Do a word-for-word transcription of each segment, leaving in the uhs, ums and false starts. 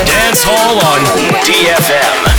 Dance Hall on D F M.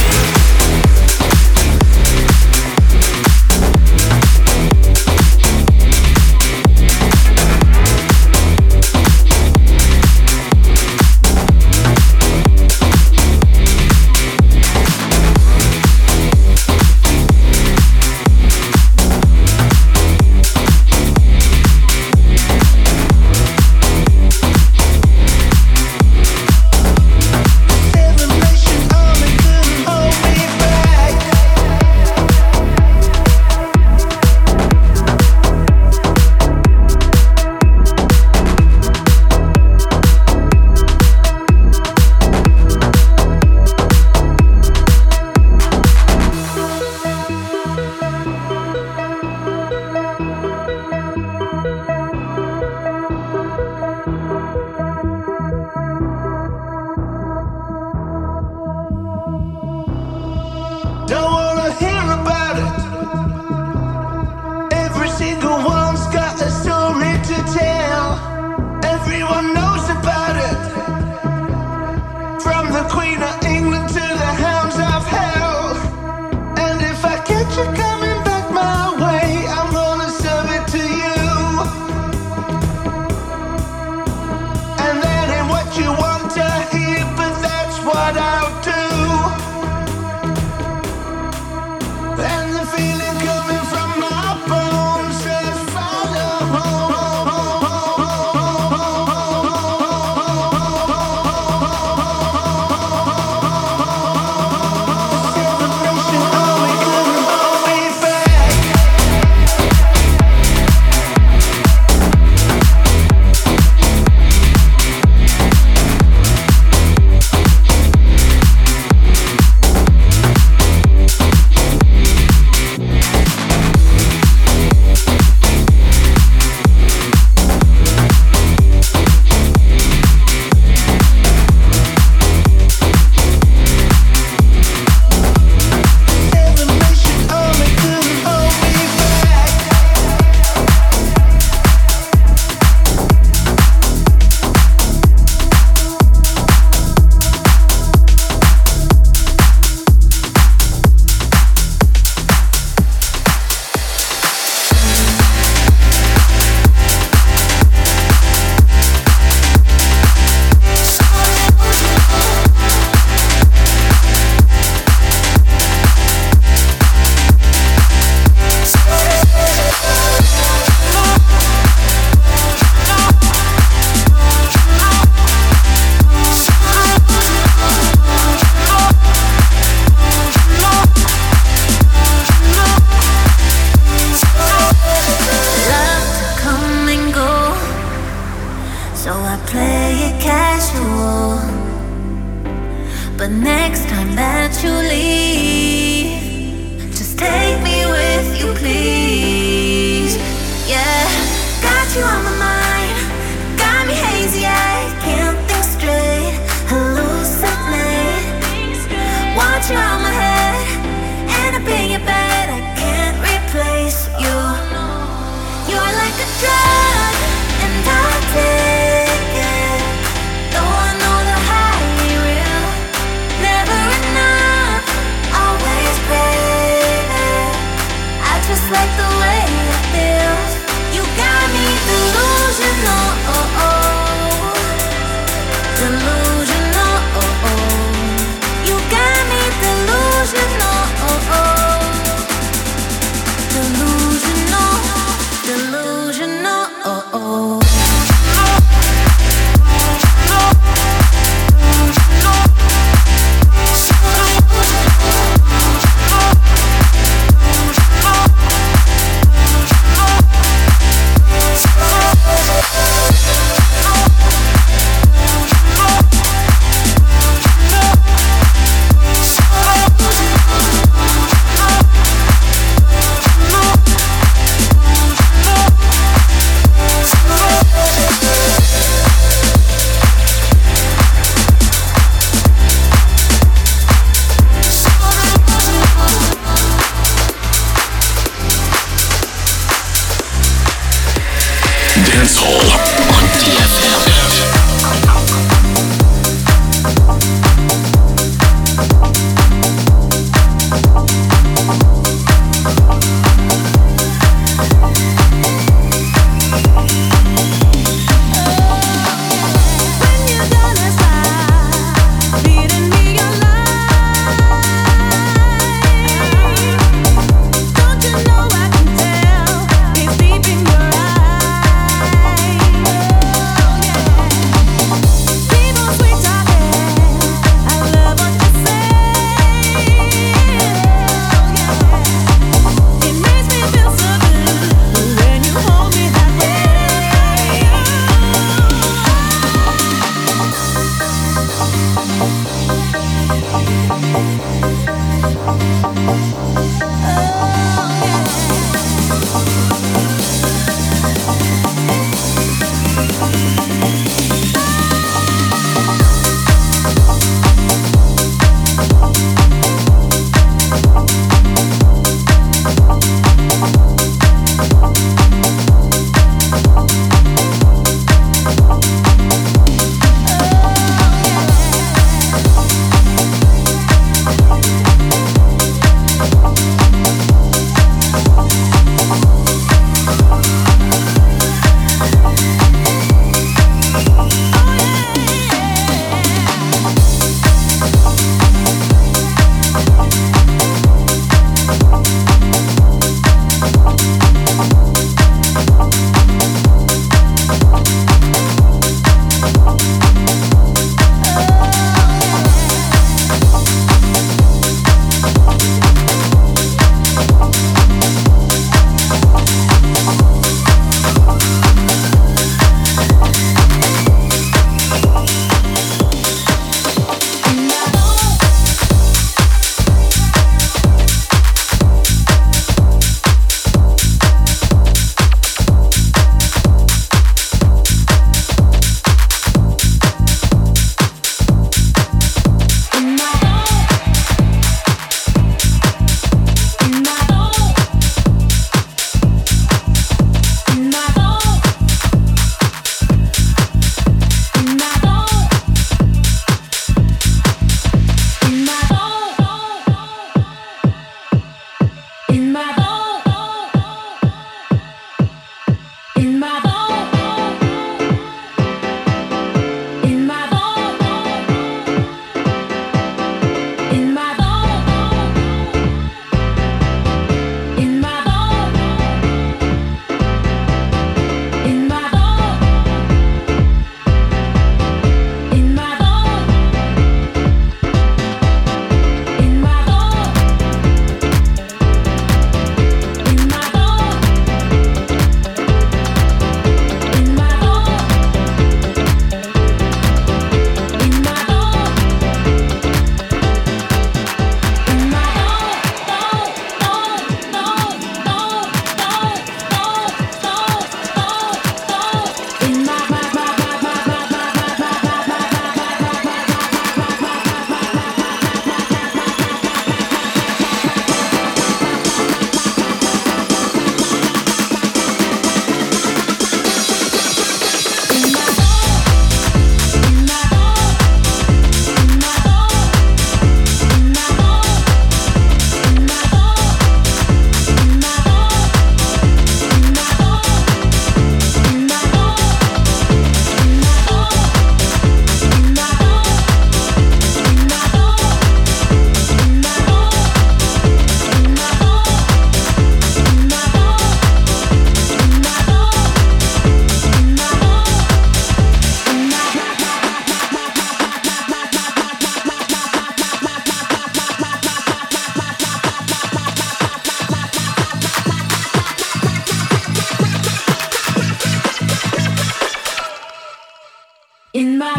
Like the way it feels, you got me through.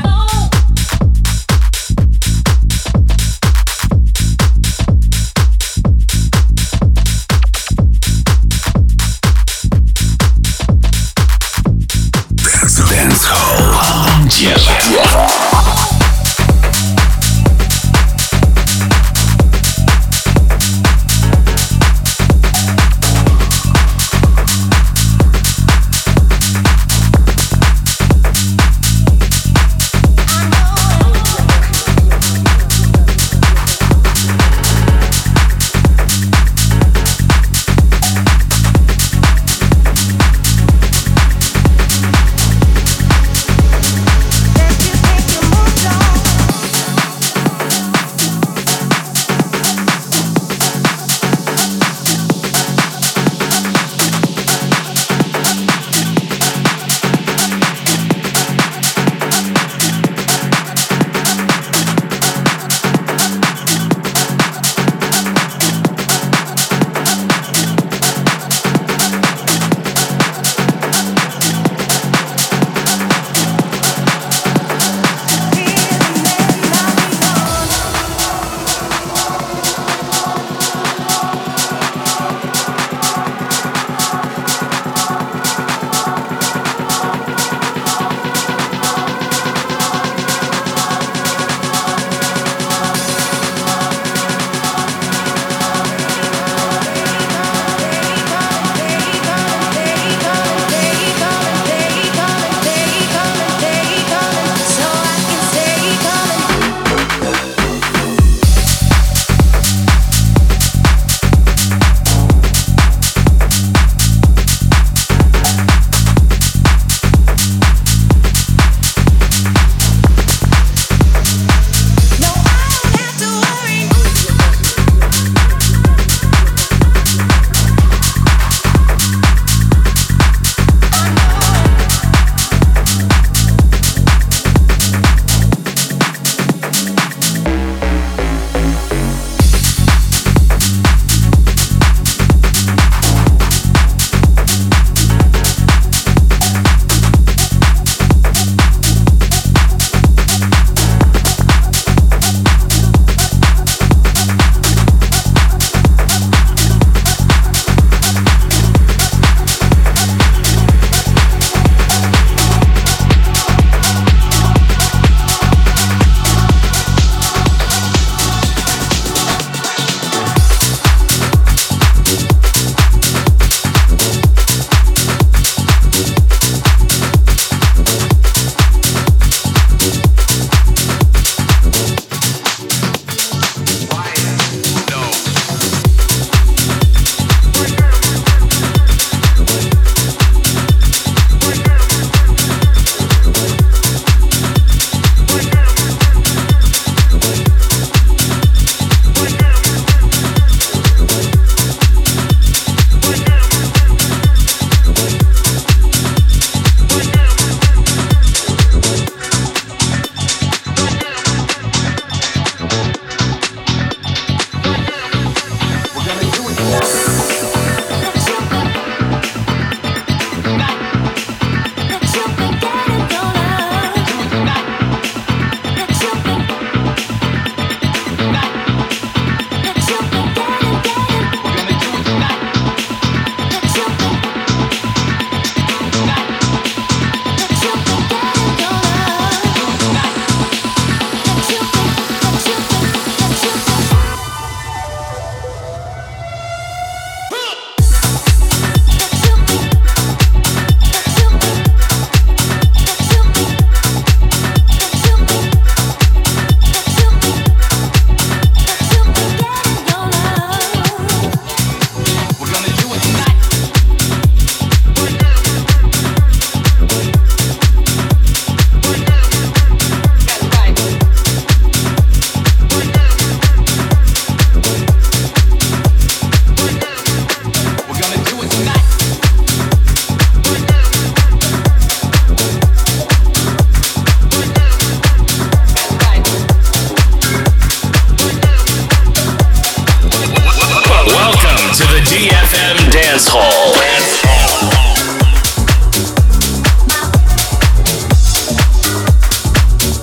Dance Hall. Dance Hall.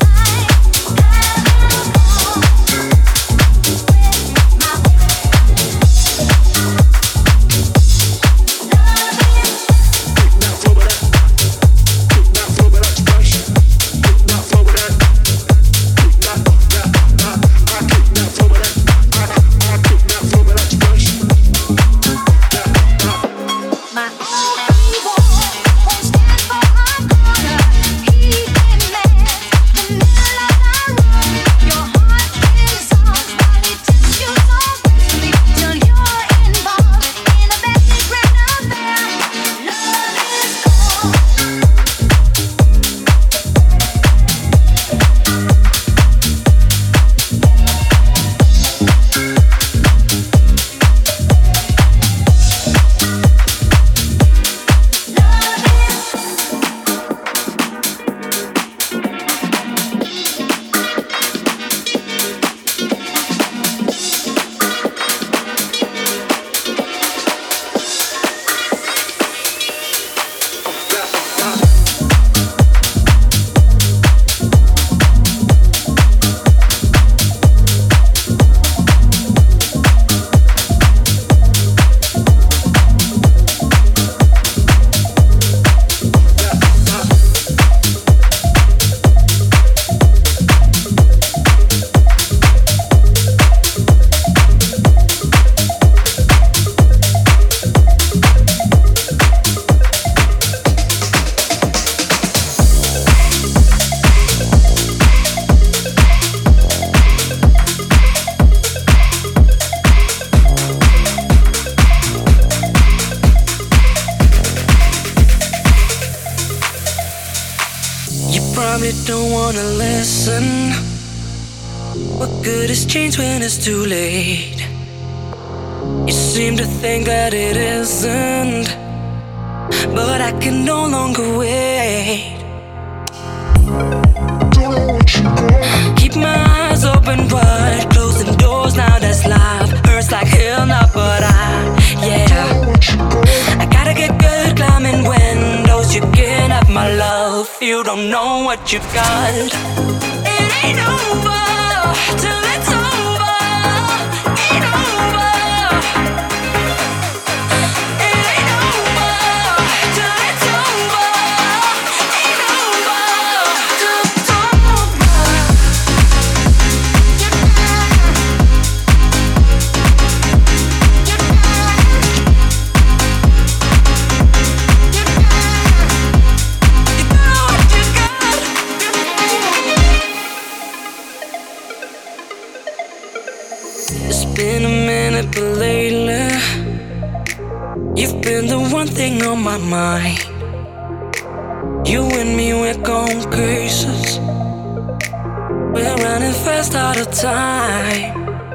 wanna listen. What good is change when it's too late? You seem to think that it isn't, but I can no longer wait. Keep my eyes open wide, closing doors now that's life. Hurts like hell now, but I, yeah, I gotta get good climbing windows. You can't have my love, you don't know what you got. It ain't over till it's over. Ain't over. It ain't over till it's over. Ain't over till it's over. You got what you got. It's been a minute, but lately you've been the one thing on my mind. You and me, we're going cases. We're running fast out of time.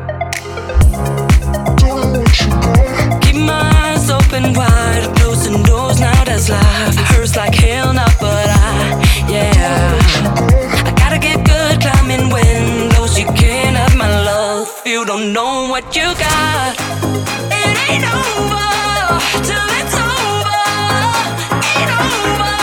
Keep my eyes open wide, closing doors now that's life. Hurts like hell now, but I, yeah, I gotta get good climbing windows. You can't have my love, you don't know what you got. It ain't over till it's over. Ain't over.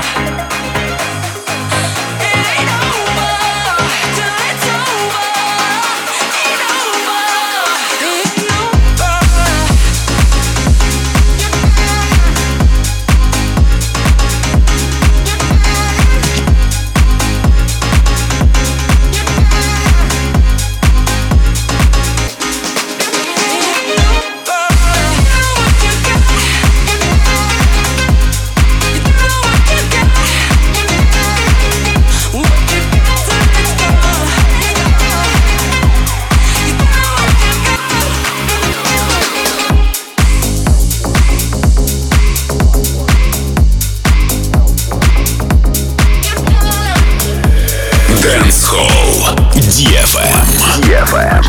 It ain't over till it's over. Ain't over. Ain't over. Dance Hall ди эф эм. ди эф эм.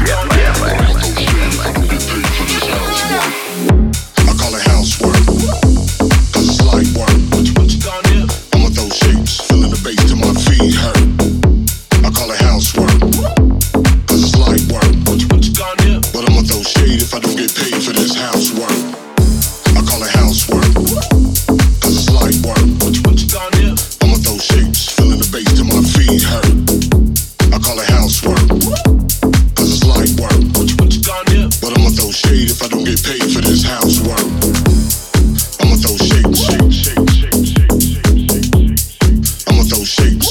I call it housework, cause it's light work. I'ma throw shapes, feeling the bass till my feet hurt. I call it housework, cause it's light work. But I'ma throw shade if I don't get paid for this housework. I call it housework, cause it's light work. I'ma throw shapes, feeling the bass till my feet hurt. I call it housework, cause it's light work. But I'ma throw shade if I don't get paid for this housework. I'ma throw shade, shade, shade, shade, shade, shade. I'ma throw shapes.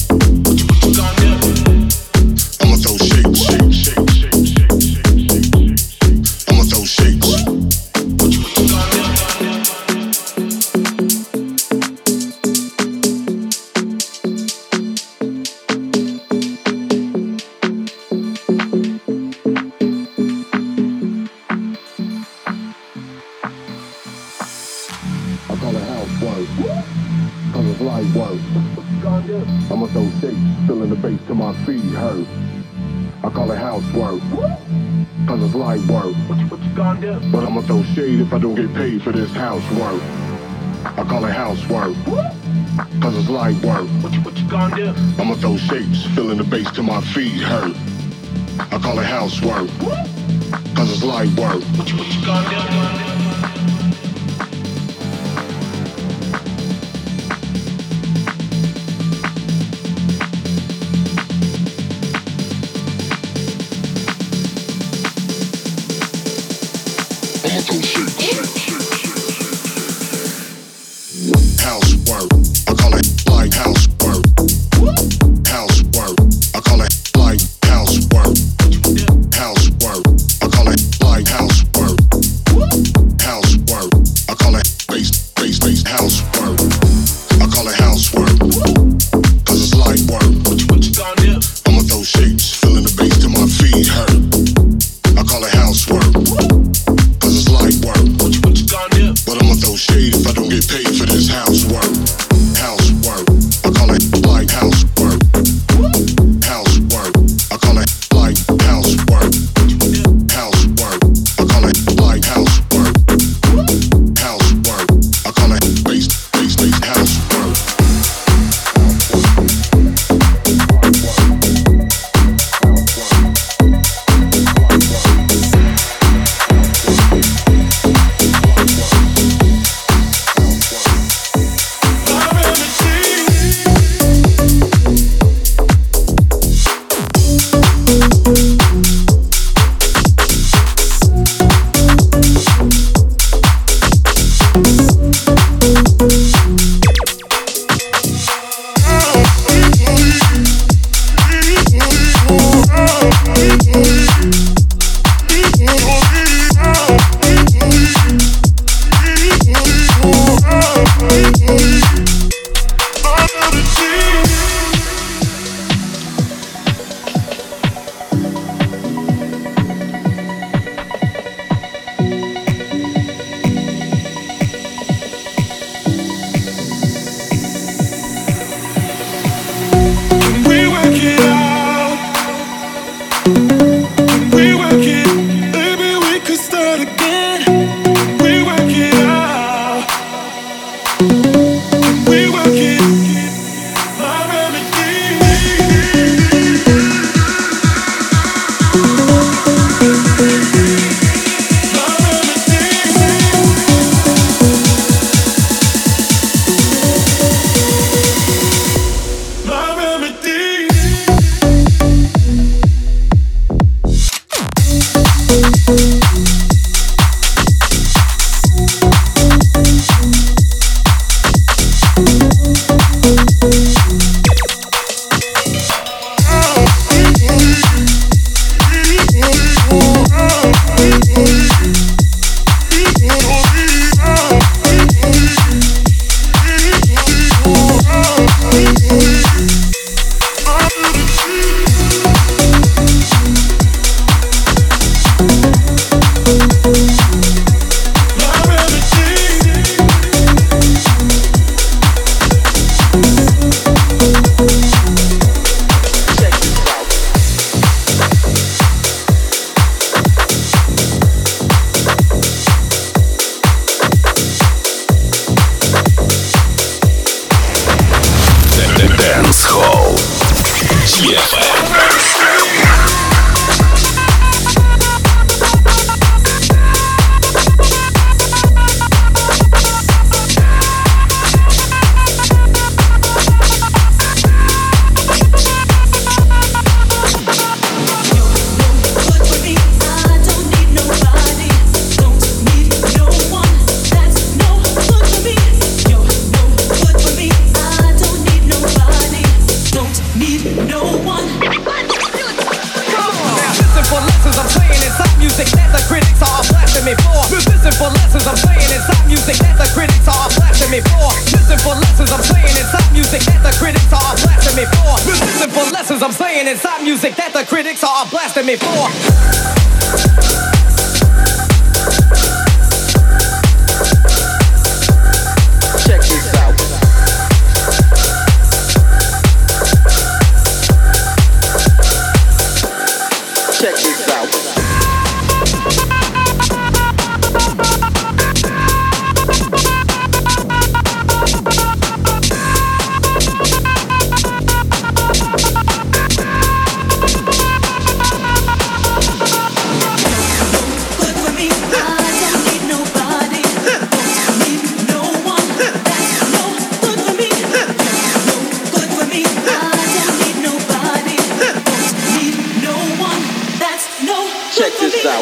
I'ma throw shade, shade, shade, shade, shade, shade. I'ma throw shapes. I call it housework, cause it's light work. I'ma throw shapes, feeling the bass till my feet hurt. I call it housework, cause it's light work. But I'ma throw shade if I don't get paid for this housework. I call it housework, cause it's light work. I'ma throw shapes, feeling the bass till my feet hurt. I call it housework, cause it's light work. Housework, I call it light housework. Housework, I call it light housework. Housework, I call it light housework. ди эф эм. I'm saying inside music that the critics are blasting me for. Check this out. Check this out. Check this out.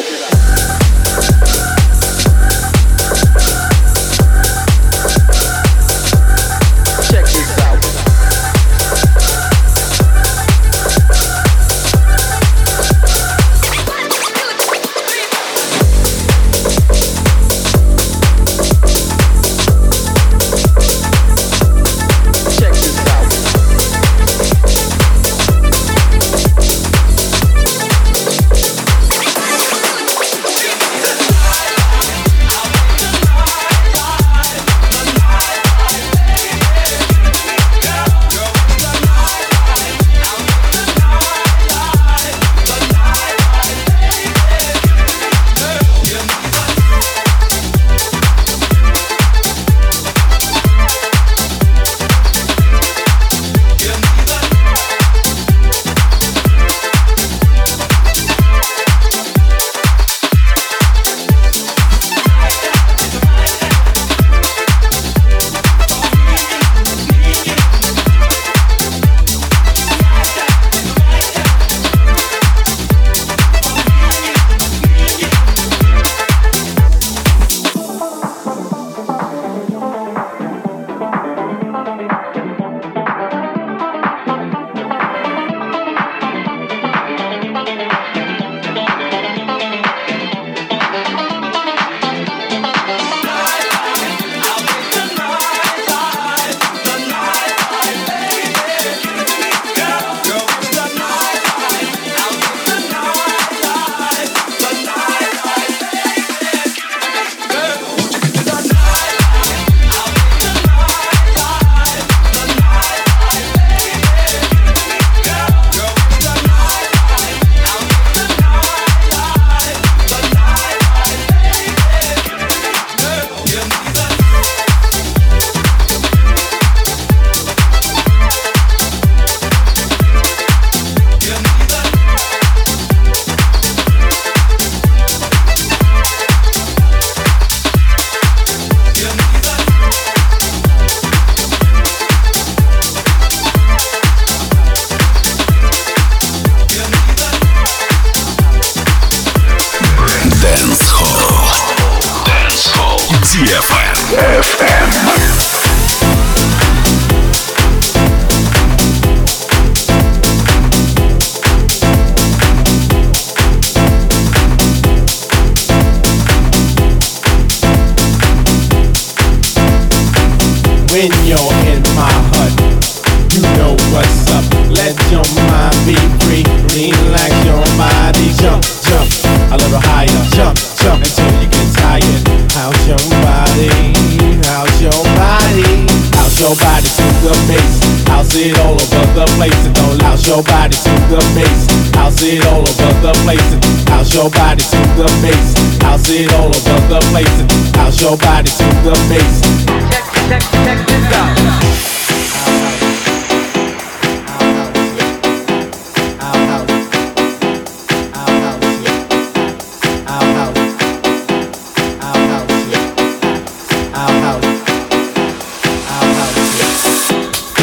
When you're in my hut, you know what's up. Let your mind be free. Relax your body. Jump, jump a little higher. Jump, jump until you get tired. How's your body? How's your body? How's your body to the bass? How's it all over the place? And don't louse your body to the bass. How's it all over the place? And how's your body to the bass? How's it all over the place? And how's your body to the bass? Check, check, check this out.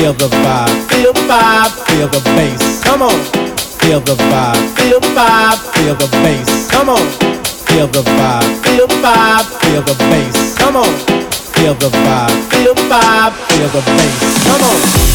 Feel the vibe, feel the vibe, feel the bass. Come on. Feel the vibe, feel the vibe, feel the bass. Come on. Feel the vibe, feel the vibe, feel the bass. Come on. Feel the vibe, feel the vibe, feel the bass. Come on.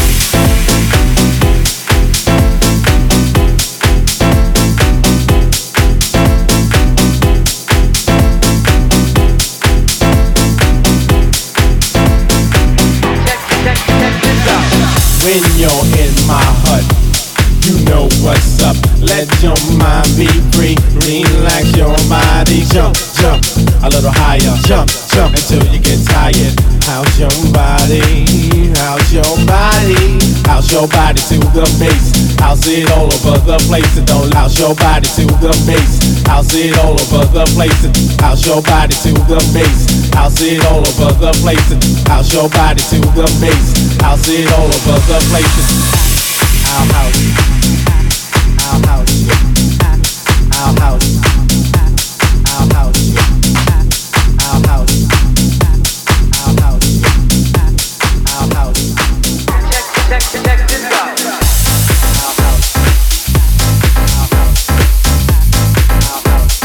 When you're in my hut, you know what's up. Let your mind be free. Relax your body. Jump, jump a little higher. Jump, jump until you get tired. How's your body? How's your body? How's your body to the bass? How's it all over the place? And don't how's your body to the bass? How's it all over the place? And how's your body to the bass? How's it all over the place? And how's your body to the bass? How's it all over the place? Our house, our house, our house, our house, our house, our house, our house. Check, check, check this out. Our house, our house, our house.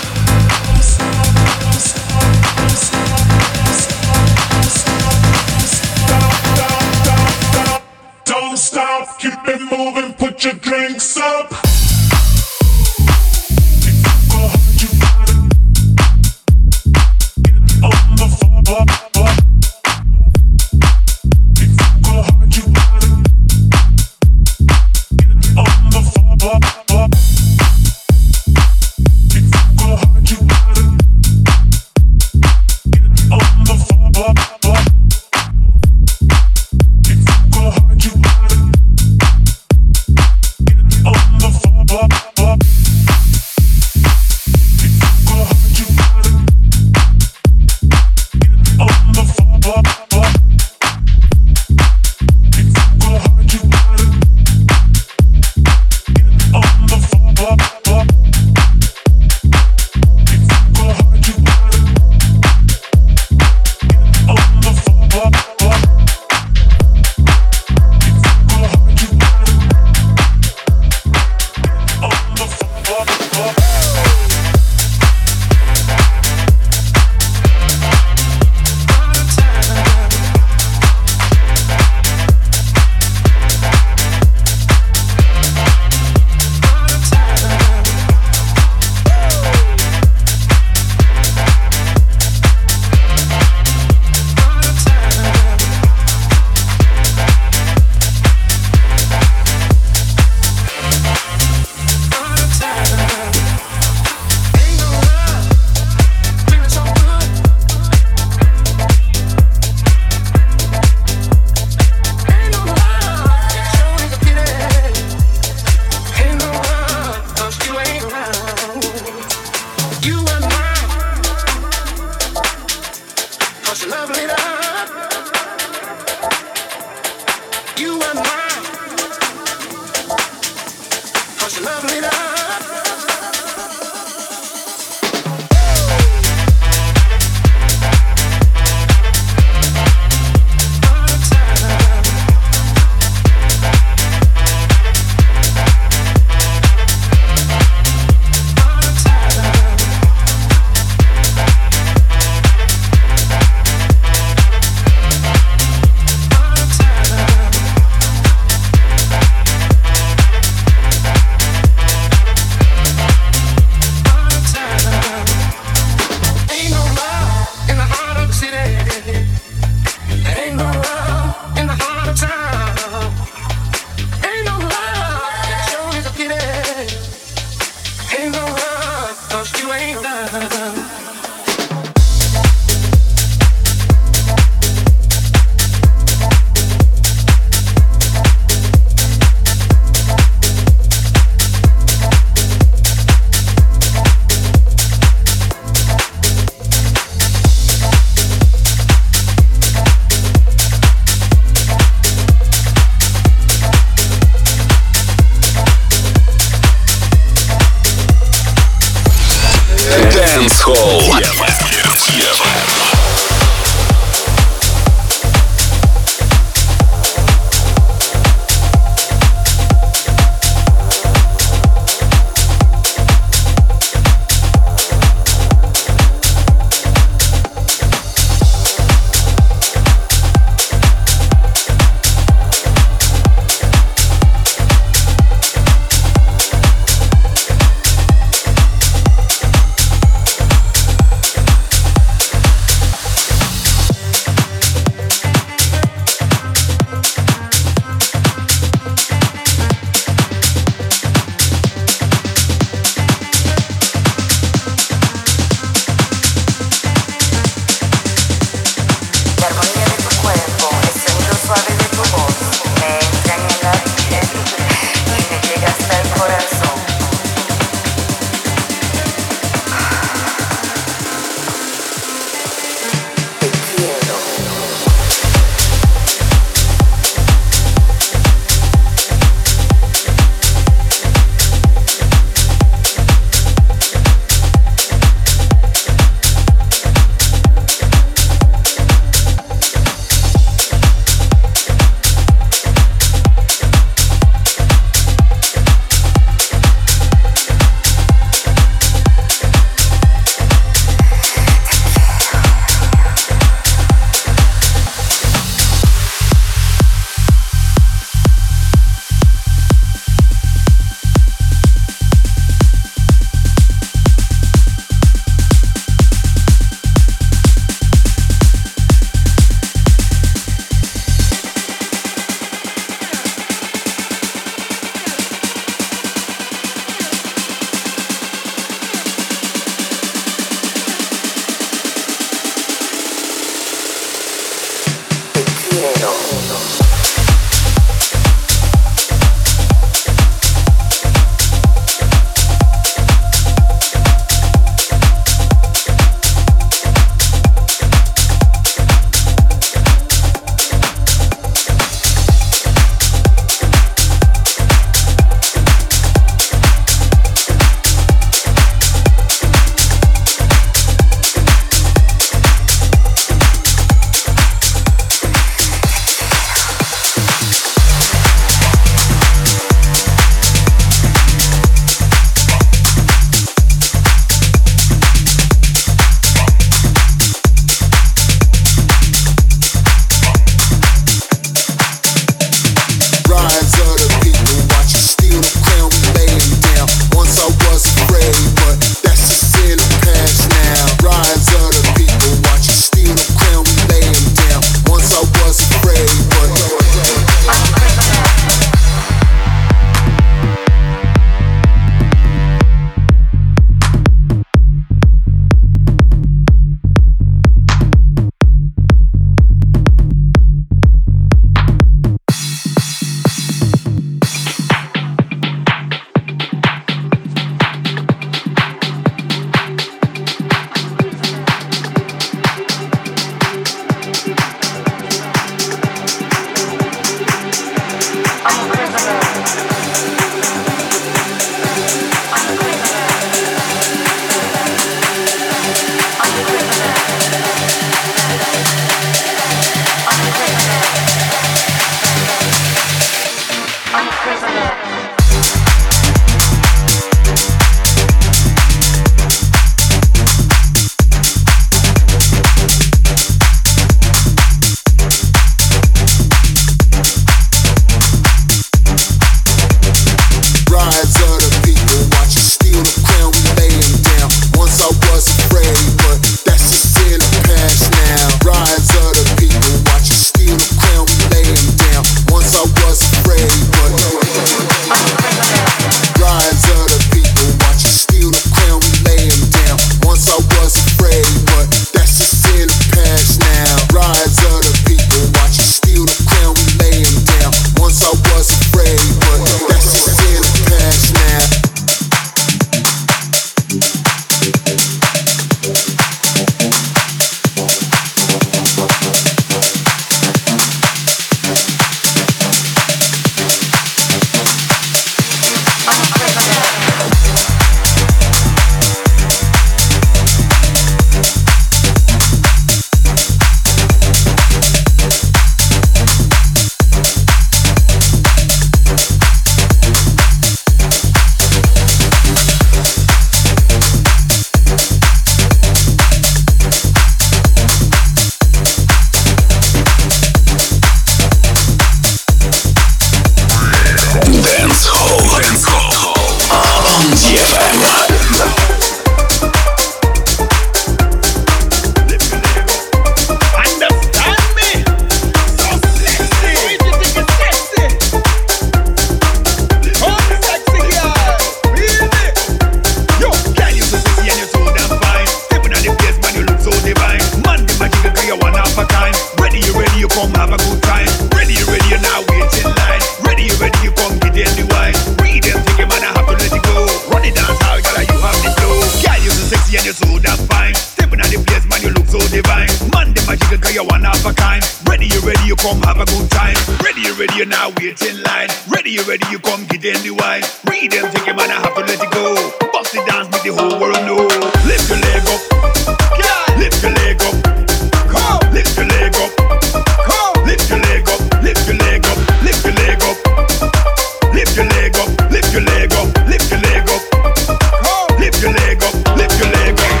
you now wait in line. Ready, you ready, you come get in the wine. Read them, take it, man, I have to let it go. Bust it dance, make the whole world know. Lift your leg up, yeah. Lift your leg up, come. Lift your leg up, come. Lift your leg up, lift your leg up, lift your leg up. Lift your leg up, lift your leg up, lift your leg up, come. Lift your leg up, lift your leg up.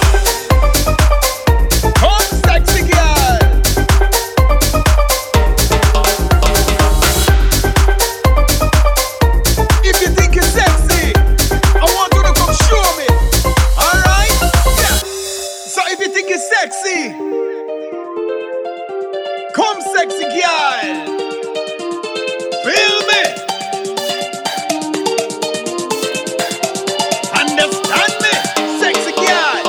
Come, sexy girl. If you think you're sexy, I want you to come show me. Alright? Yeah. So if you think you're sexy, come sexy girl. Feel me? Understand me? Sexy girl.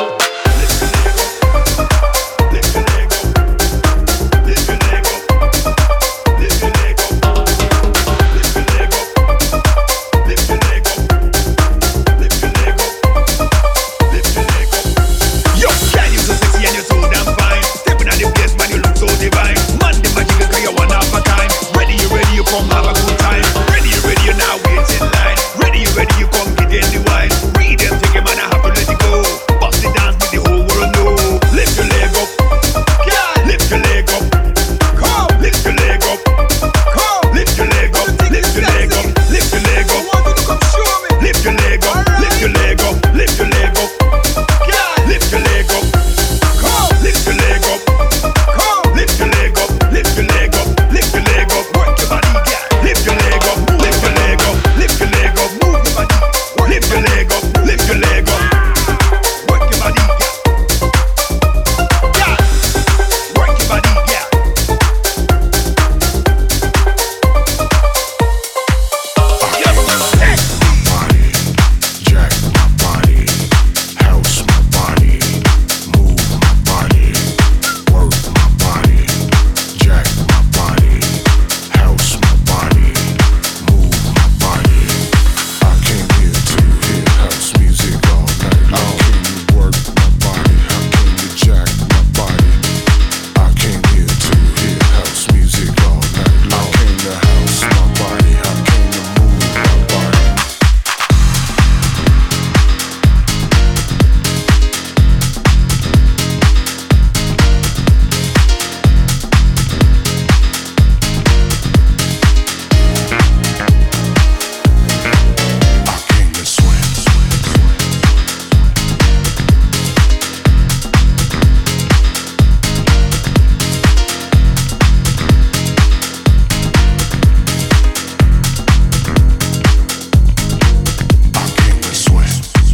Lift your leg up. Lift your leg up. Lift your leg up. Lift your leg up. Lift your leg up. Lift your leg up. Lift your leg up. Yo, can you so sexy and you're so damn fine. Stepping on the place, man, you look so divine. Man, the magic is 'cause you're one of a kind. Ready, you ready, you come have a good time. Ready, you ready, you now wait in line. Ready, you ready, you come get in the wine. Read them, take it, man, I have to let it go. Bust the dance, make the whole world know. Lift your leg up, yeah. Lift your leg up, come. Lift your leg up, come. Lift your leg up, lift your leg up, lift your leg up. I want you to come show me. Lift your leg up, lift your leg up, lift your leg up, yeah. Lift your leg up, come. Lift your leg up, come. Lift your leg up, lift your leg up, lift your leg up. Work your body, yeah. Lift your leg up, lift your leg up, lift your leg up. Move your body. Lift your leg up, lift your leg up. Work your body, yeah. Yeah. Work your body, yeah. Yes, hey. Body, jack my body, house my body, move my body, work my body, jack my body, house my body, move my body. I came here to hear house music all night long. How can you work my body? How can you jack my body? I came here to hear house music all night long. I came to house my body. I came to move my body. I came to swim. I came to swim.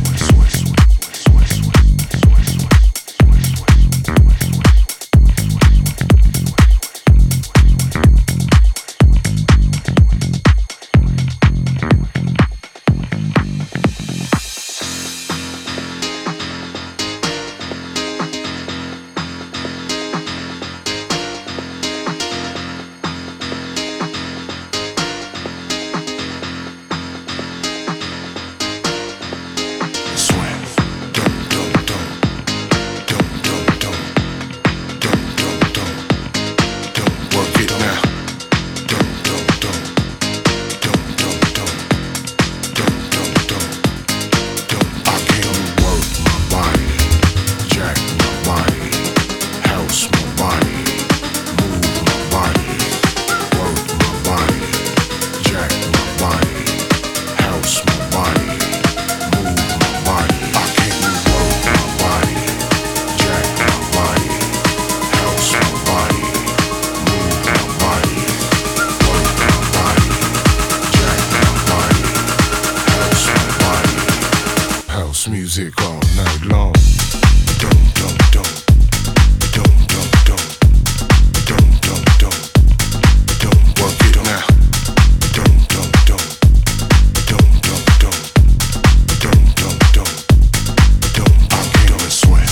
Swim. Dum dum dum. Dum dum dum. Dum dum dum. Dum work it now. Dum dum dum. Dum dum dum. Dum dum dum. Dum. I came to work my body, jack my body, house my body, move my body, work my body, jack my body, house my body, move my body. I came to work my body, jack my body, house my body, move my body, work my body, jack my body, house my body. House music all night long. Dum dum dum. Dum dum dum. Dum dum dum. Dum work it now. Dum dum dum. Dum dum dum. Dum dum dum. Dum. I came to swim.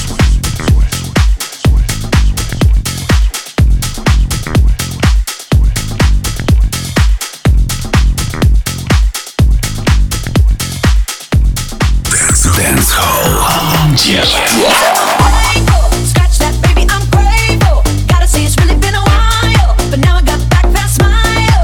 Dance Hall on ди эф эм. Scratch that, baby, I'm grateful. Gotta say it's really been a while, but now I got back that smile.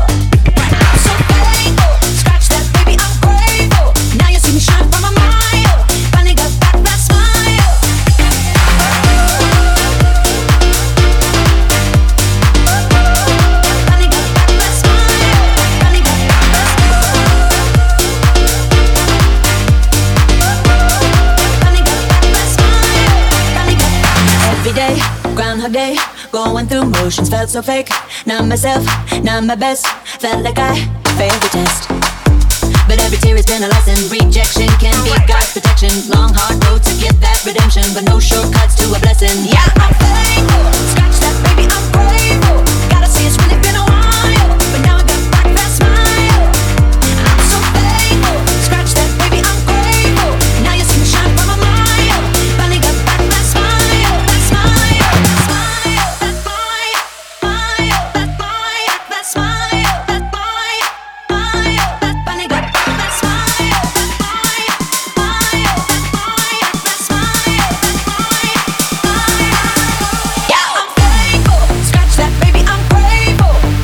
emotions felt so fake. Not myself, not my best. Felt like I failed the test. But every tear has been a lesson. Rejection can be God's protection. Long hard road to get that redemption, but no shortcuts to a blessing. Yeah, I'm faithful. Scratch that, baby, I'm grateful. Gotta say it's really been a while, but now I got back that smile. I'm so faithful. Scratch that, baby, I'm grateful. Now you see me shine from a mile. Finally got back that smile, that smile, smile, that smile, smile, that smile, that smile, that smile, smile, that finally got back that smile, that smile, smile, that smile, that smile, that smile, smile. Yeah, I'm faithful. Scratch that, baby, I'm grateful.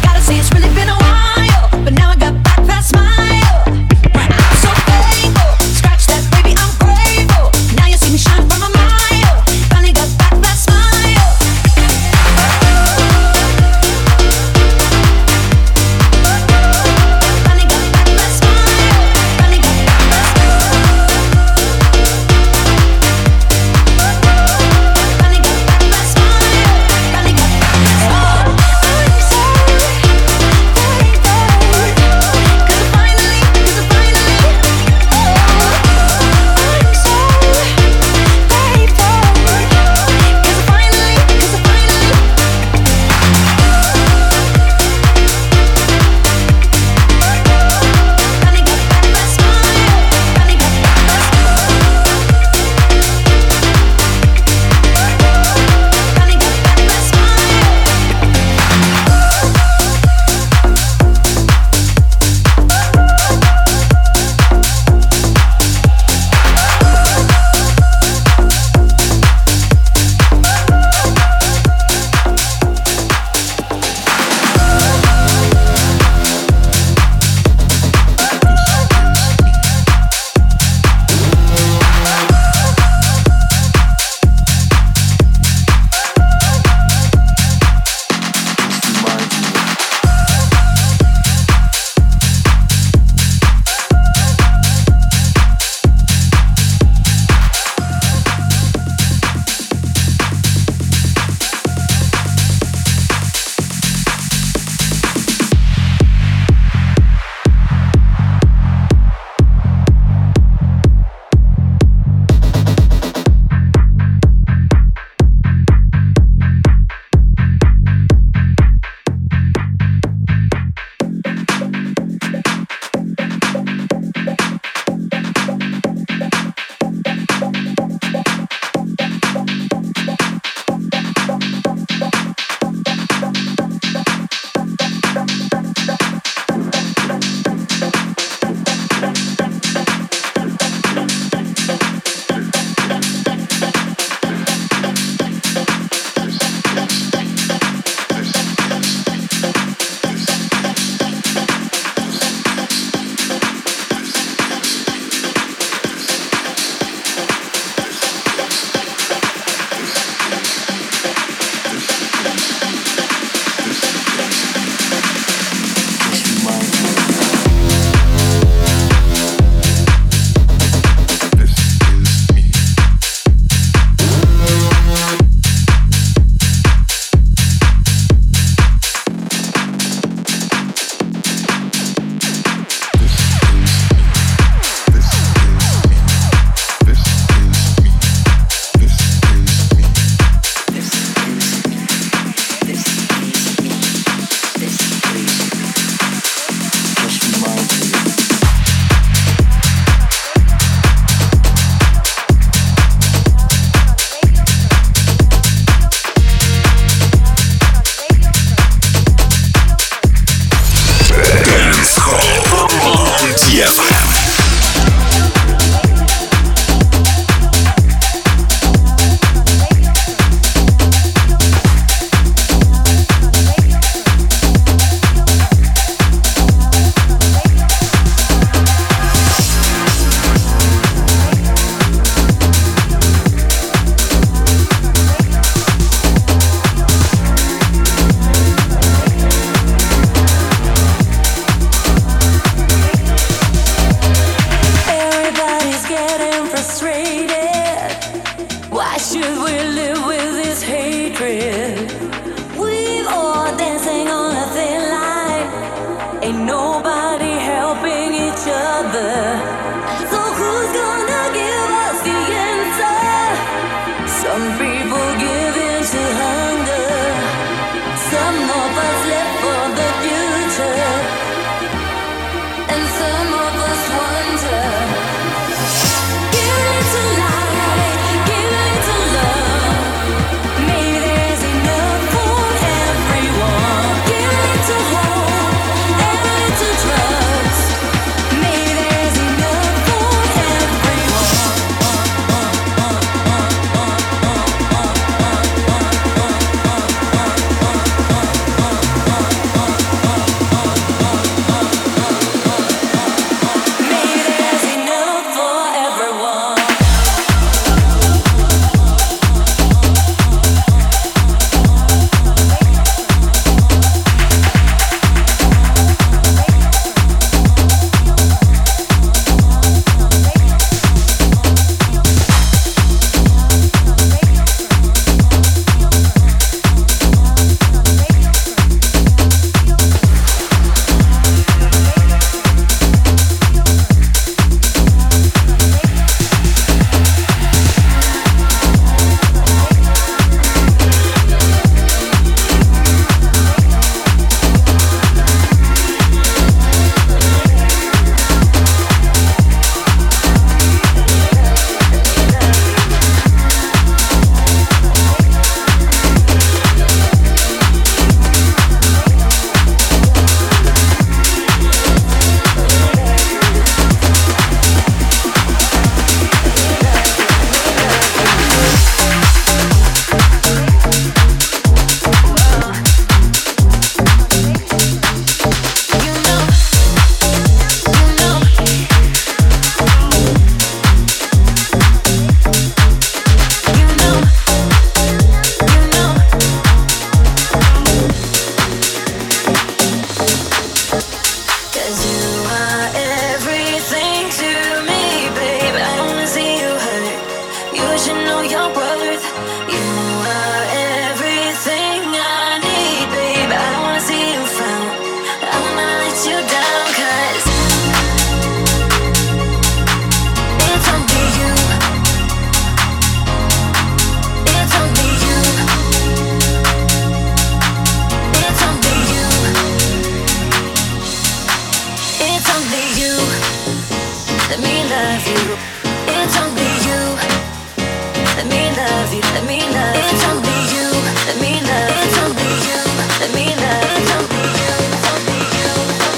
Ain't nobody helping each other.